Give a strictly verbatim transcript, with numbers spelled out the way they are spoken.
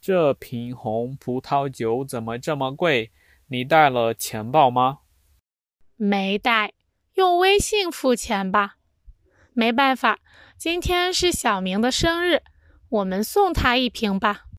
这瓶红葡萄酒怎么这么贵？你带了钱包吗？ 没带，用微信付钱吧。没办法，今天是小明的生日，我们送他一瓶吧。